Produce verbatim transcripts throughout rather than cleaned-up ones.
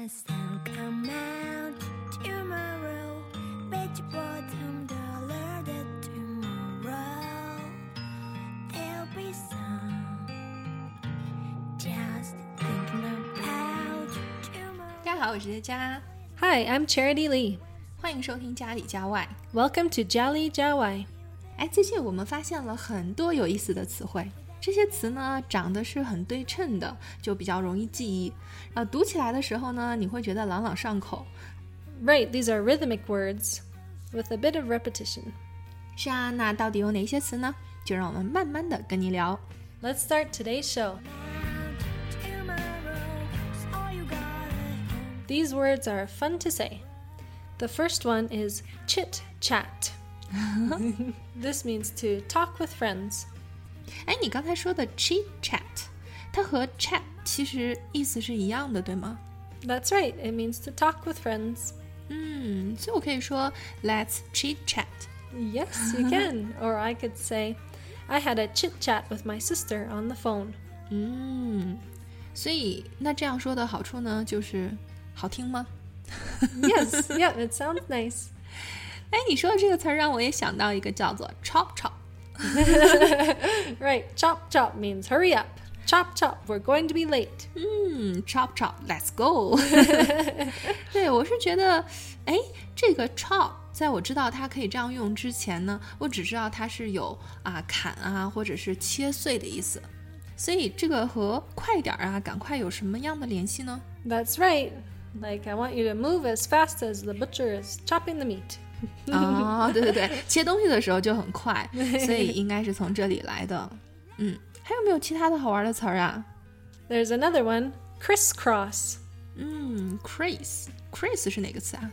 the sun come out tomorrow, bet your bottom dollar that tomorrow there'll be sun. Just thinking about tomorrow. 大家好，我是佳。 Hi, I'm Charity Lee. 欢迎收听家里家外。 Welcome to Jali Jawai. 哎，最近我们发现了很多有意思的词汇，这些词呢长得是很对称的，就比较容易记忆。呃，读起来的时候呢，你会觉得朗朗上口。 Right, these are rhythmic words with a bit of repetition. 是啊，那到底有哪些词呢？就让我们慢慢的跟你聊。 Let's start today's show. These words are fun to say. The first one is chit-chat. This means to talk with friends. 哎，你刚才说的 chit chat， 它和 chat 其实意思是一样的，对吗？ That's right, it means to talk with friends. 嗯，所以我可以说 Let's chit chat. Yes, you can. Or I could say, I had a chit-chat with my sister on the phone. 嗯，所以那这样说的好处呢，就是好听吗？ Yes, yeah, it sounds nice. 哎，你说的这个词儿让我也想到一个叫做 chop chop. Right, chop chop means hurry up. Chop chop, we're going to be late. 嗯 chop chop, let's go. 对，我是觉得，哎，这个 chop 在我知道它可以这样用之前呢，我只知道它是有啊砍啊或者是切碎的意思，所以这个和快点啊赶快有什么样的联系呢？ That's right. Like, I want you to move as fast as the butcher is chopping the meat. 哦，对对对，切东西的时候就很快，所以应该是从这里来的。嗯，还有没有其他的好玩的词儿啊？ There's another one, crisscross. 嗯 ，Chris Chris 是哪个词啊？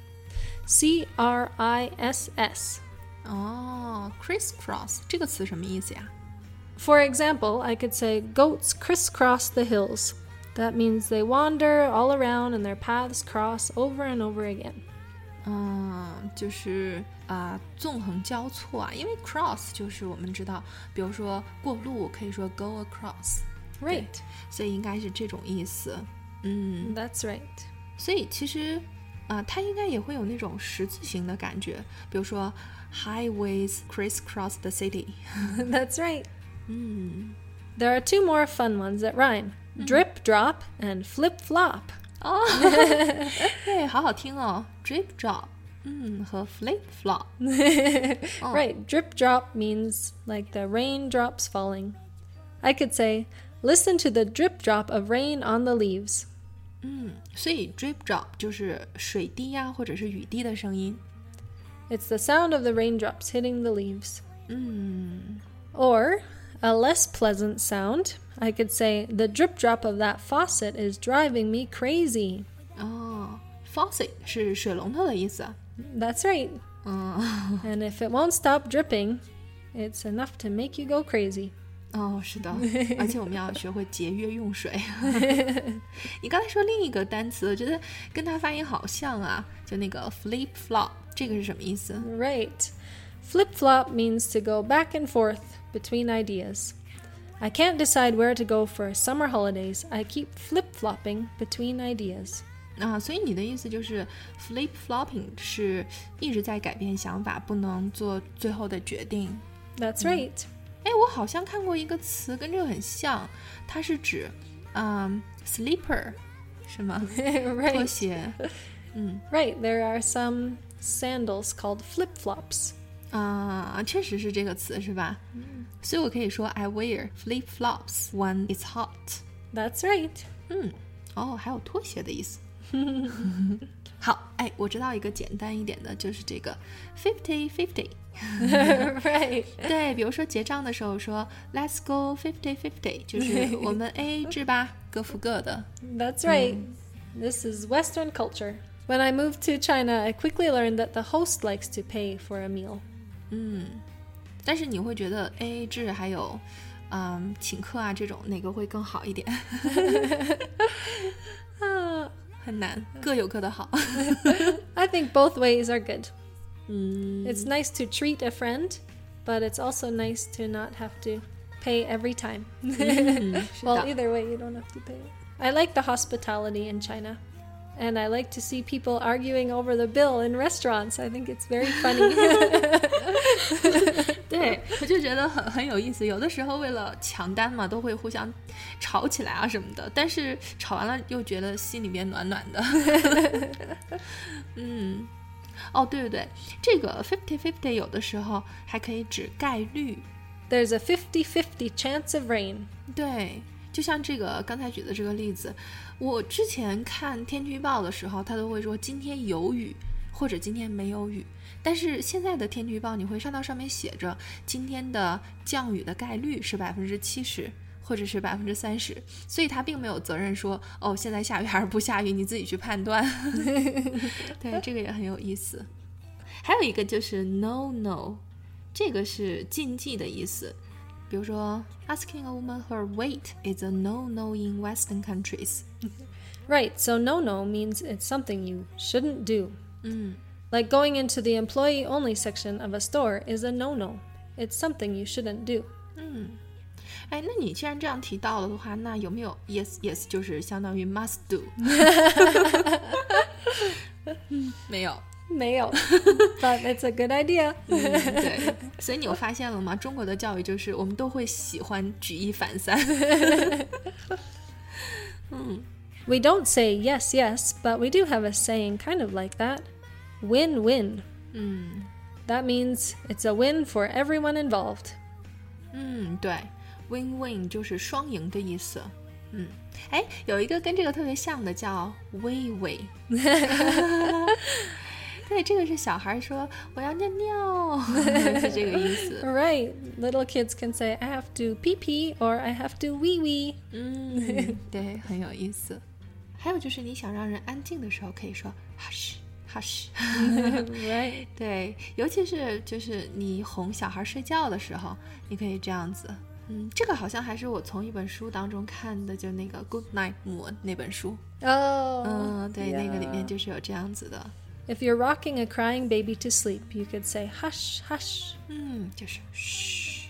C R I S S. 哦 ，crisscross 这个词什么意思呀？ For example, I could say, goats crisscross the hills. That means they wander all around and their paths cross over and over again. 嗯，就是啊、呃，纵横交错啊，因为 cross 就是我们知道，比如说过路可以说 go across， Right. 所以应该是这种意思。嗯 That's right. 所以其实啊、呃，它应该也会有那种十字形的感觉，比如说 highways crisscross the city。 That's right. 嗯 There are two more fun ones that rhyme. Drip drop and flip flop. 哦，对，好好听哦 ，drip drop， 嗯，和 flip flop。哦 Right, drip drop means like the raindrops falling. I could say, listen to the drip drop of rain on the leaves. 嗯，所以 drip drop 就是水滴呀、或者是雨滴的声音。 It's the sound of the raindrops hitting the leaves. 嗯 Or, a less pleasant sound, I could say, the drip drop of that faucet is driving me crazy. 哦 ，faucet 是水龙头的意思。 That's right. 嗯， And if it won't stop dripping, it's enough to make you go crazy. 哦，是的，而且我们要学会节约用水。你刚才说另一个单词，我觉得跟它发音好像啊，就那个 flip flop， 这个是什么意思？ Right. Flip flop means to go back and forth between ideas. I can't decide where to go for summer holidays. I keep flip flopping between ideas. 啊，所以你的意思就是 flip flopping 是一直在改变想法，不能做最后的决定。 That's right. 哎，我好像看过一个词跟这个很像，它是指嗯 slipper 是吗？拖 Right. 鞋。嗯 Right. There are some sandals called flip flops. 啊，确实是这个词是吧？所以我可以说 I wear flip flops when it's hot。 That's right. 嗯，哦，还有拖鞋的意思。好，哎，我知道一个简单一点的，就是这个 fifty fifty。 Right. 对，比如说结账的时候说 Let's go fifty fifty， 就是我们 A A 制吧，各付各的。 That's right. This is Western culture. When I moved to China, I quickly learned that the host likes to pay for a meal. 嗯，但是你会觉得 A A 制还有嗯请客啊这种哪个会更好一点？啊，很难，各有各的好。 I think both ways are good. 嗯 It's nice to treat a friend, but it's also nice to not have to pay every time. 嗯是 Well, 的 either way, you don't have to pay. I like the hospitality in China. And I like to see people arguing over the bill in restaurants. I think it's very funny. 对，我就觉得很很有意思。有的时候为了抢单嘛，都会互相吵起来啊什么的，但是吵完了又觉得心里面暖暖的。嗯，哦，对对对，这个 fifty fifty 有的时候还可以指概率。 There's a fifty fifty chance of rain. 对，就像这个刚才举的这个例子，我之前看天气预报的时候，它都会说今天有雨或者今天没有雨，但是现在的天气预报你会看到上面写着今天的降雨的概率是百分之七十或者是百分之三十，所以它并没有责任说哦现在下雨还是不下雨，你自己去判断。对，这个也很有意思。还有一个就是 no no， 这个是禁忌的意思。比如说 asking a woman her weight is a no-no in Western countries. Right, so no-no means it's something you shouldn't do. 嗯 Like going into the employee-only section of a store is a no-no. It's something you shouldn't do. 嗯，哎，那你既然这样提到了的话，那有没有 yes yes 就是相当于 must do？ 没有。 没有 But it's a good idea. 嗯，对，所以你有发现了吗？中国的教育就是我们都会喜欢举一反三。嗯 We don't say yes, yes, but we do have a saying kind of like that. Win-win. 嗯 That means it's a win for everyone involved. 嗯，对 ，win-win 就是双赢的意思。嗯，哎，有一个跟这个特别像的叫喂喂。对，这个是小孩说我要尿尿，是这个意思。 Right. Little kids can say, I have to pee pee or I have to wee wee. 嗯，对，很有意思。还有就是你想让人安静的时候，可以说 hush hush。 Right. 对，尤其是就是你哄小孩睡觉的时候，你可以这样子。嗯，这个好像还是我从一本书当中看的，就那个 Good Night Moon 那本书。 Oh. 嗯，对， yeah. 那个里面就是有这样子的。 If you're rocking a crying baby to sleep, you could say hush, hush. 嗯，就是嘘。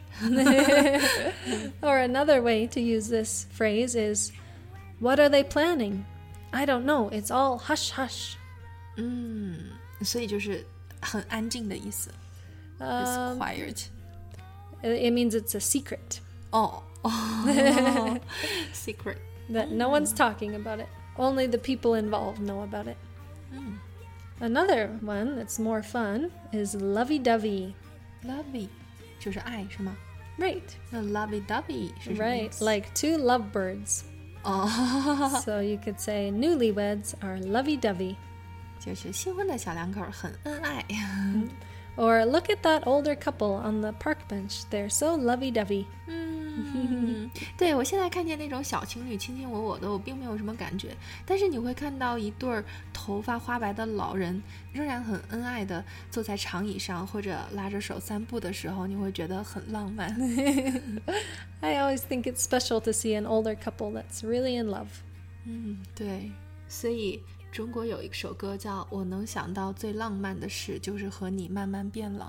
Or another way to use this phrase is, what are they planning? I don't know. It's all hush, hush. 嗯，所以就是很安静的意思。It's Um, quiet. it means it's a secret 哦哦 secret. that no one's talking about it. Only the people involved know about it. Another one that's more fun is lovey-dovey. Lovey 就是爱是吗？ Right. 那 lovey-dovey 是什么意 Right. 思？ Like two lovebirds. 哦， So you could say newlyweds are lovey-dovey. 就是新婚的小两口很恩爱。 Or look at that older couple on the park bench. They're so lovey-dovey. 嗯，对，我现在看见那种小情侣卿卿我我的，我并没有什么感觉。但是你会看到一对儿头发花白的老人，仍然很恩爱的坐在长椅上，或者拉着手散步的时候，你会觉得很浪漫。 I always think it's special to see an older couple that's really in love. 嗯，对，所以中国有一首歌叫《我能想到最浪漫的事就是和你慢慢变老》。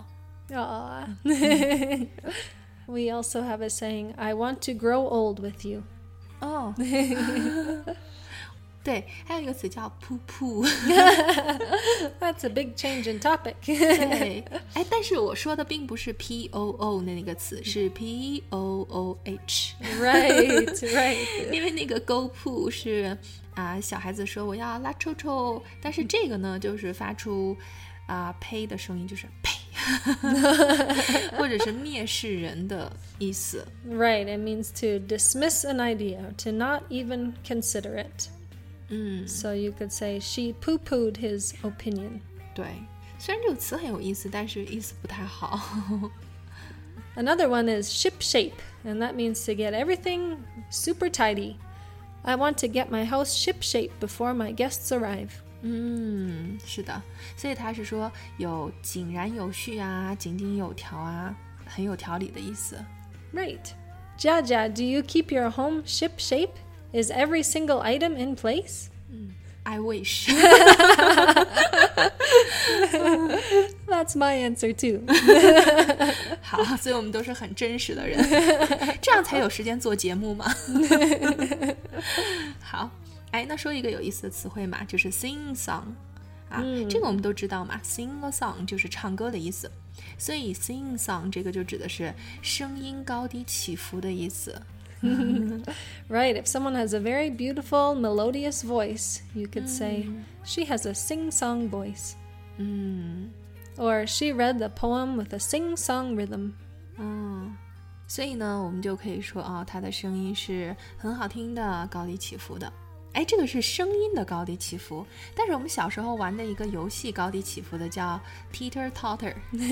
Aww. We also have a saying, I want to grow old with you. 哦，对，还有一个词叫噗噗。 That's a big change in topic. 对，哎，但是我说的并不是 P O O 的那个词，是 P O O H。 Right, right. 因为那个 go poo 是啊、小孩子说我要拉臭臭，但是这个呢就是发出啊、呸的声音，就是呸，或者是蔑视人的意思。 Right, it means to dismiss an idea, to not even consider it. 嗯， So you could say, she poo-pooed his opinion. 对，虽然这个词很有意思，但是意思不太好。 Another one is ship shape, and that means to get everything super tidy. I want to get my house ship shape before my guests arrive. 嗯，是的，所以他是说有井然有序啊，井井有条啊，很有条理的意思。 Right. Jaja, do you keep your home ship shape? Is every single item in place? I wish. That's my answer too. 好，所以我们都是很真实的人，这样才有时间做节目嘛。好， 哎，那说一个有意思的词汇嘛，就是 sing song 啊、嗯，这个我们都知道嘛 ，sing a song 就是唱歌的意思，所以 sing song 这个就指的是声音高低起伏的意思。 Right, if someone has a very beautiful, melodious voice, you could say, she has a sing-song voice. 嗯 Or she read the poem with a sing-song rhythm. 嗯，所以呢，我们就可以说啊，她的声音是很好听的，高低起伏的。哎，这个是声音的高低起伏，但是我们小时候玩的一个游戏高低起伏的叫 teeter totter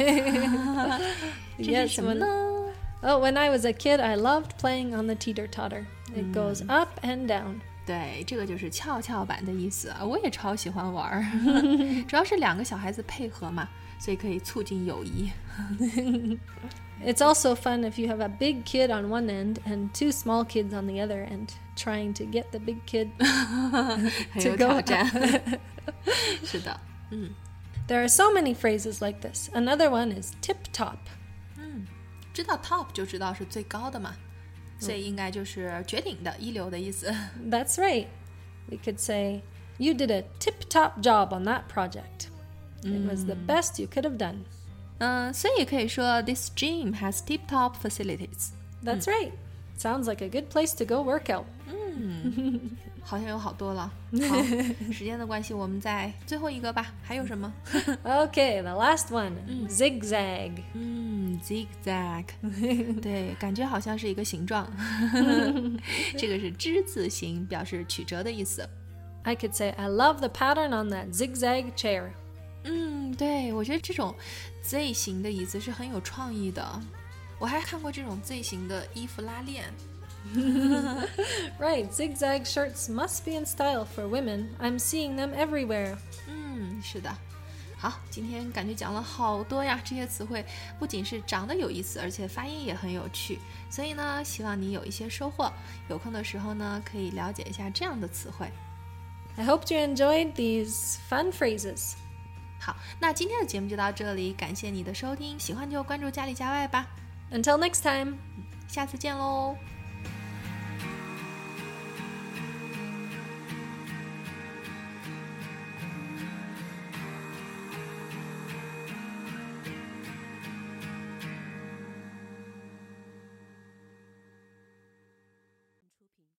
这是什么呢？ Oh, when I was a kid, I loved playing on the teeter-totter. It goes up and down. 对，这个就是跷跷板的意思啊，我也超喜欢玩主要是两个小孩子配合嘛，所以可以促进友谊。 It's also fun if you have a big kid on one end and two small kids on the other end, trying to get the big kid 很有 to go 挑战 up. 是的，嗯 There are so many phrases like this. Another one is tip-top. 知道 top 就知道是最高的嘛，所以应该就是绝顶的一流的意思。 That's right. We could say, you did a tip-top job on that project. It was the best you could have done. 嗯，所以也可以说 This gym has tip-top facilities. That's right. Sounds like a good place to go work out. 好像有好多了。好，时间的关系，我们再最后一个吧。还有什么？ Okay, the last one, zigzag. 嗯 ，zigzag，对，感觉好像是一个形状。这个是之字形，表示曲折的意思。 I could say, I love the pattern on that zigzag chair. 嗯，对，我觉得这种 Z 型的椅子是很有创意的。我还看过这种 Z 型的衣服拉链。 Right, zigzag shirts must be in style for women. I'm seeing them everywhere. 嗯，是的。好，今天感觉讲了好多呀，这些词汇不仅是长得有意思，而且发音也很有趣。所以呢，希望你有一些收获。有空的时候呢，可以了解一下这样的词汇。 I hope you enjoyed these fun phrases. 好，那今天的节目就到这里，感谢你的收听，喜欢就关注家里家外吧， Until next time. 下次见喽。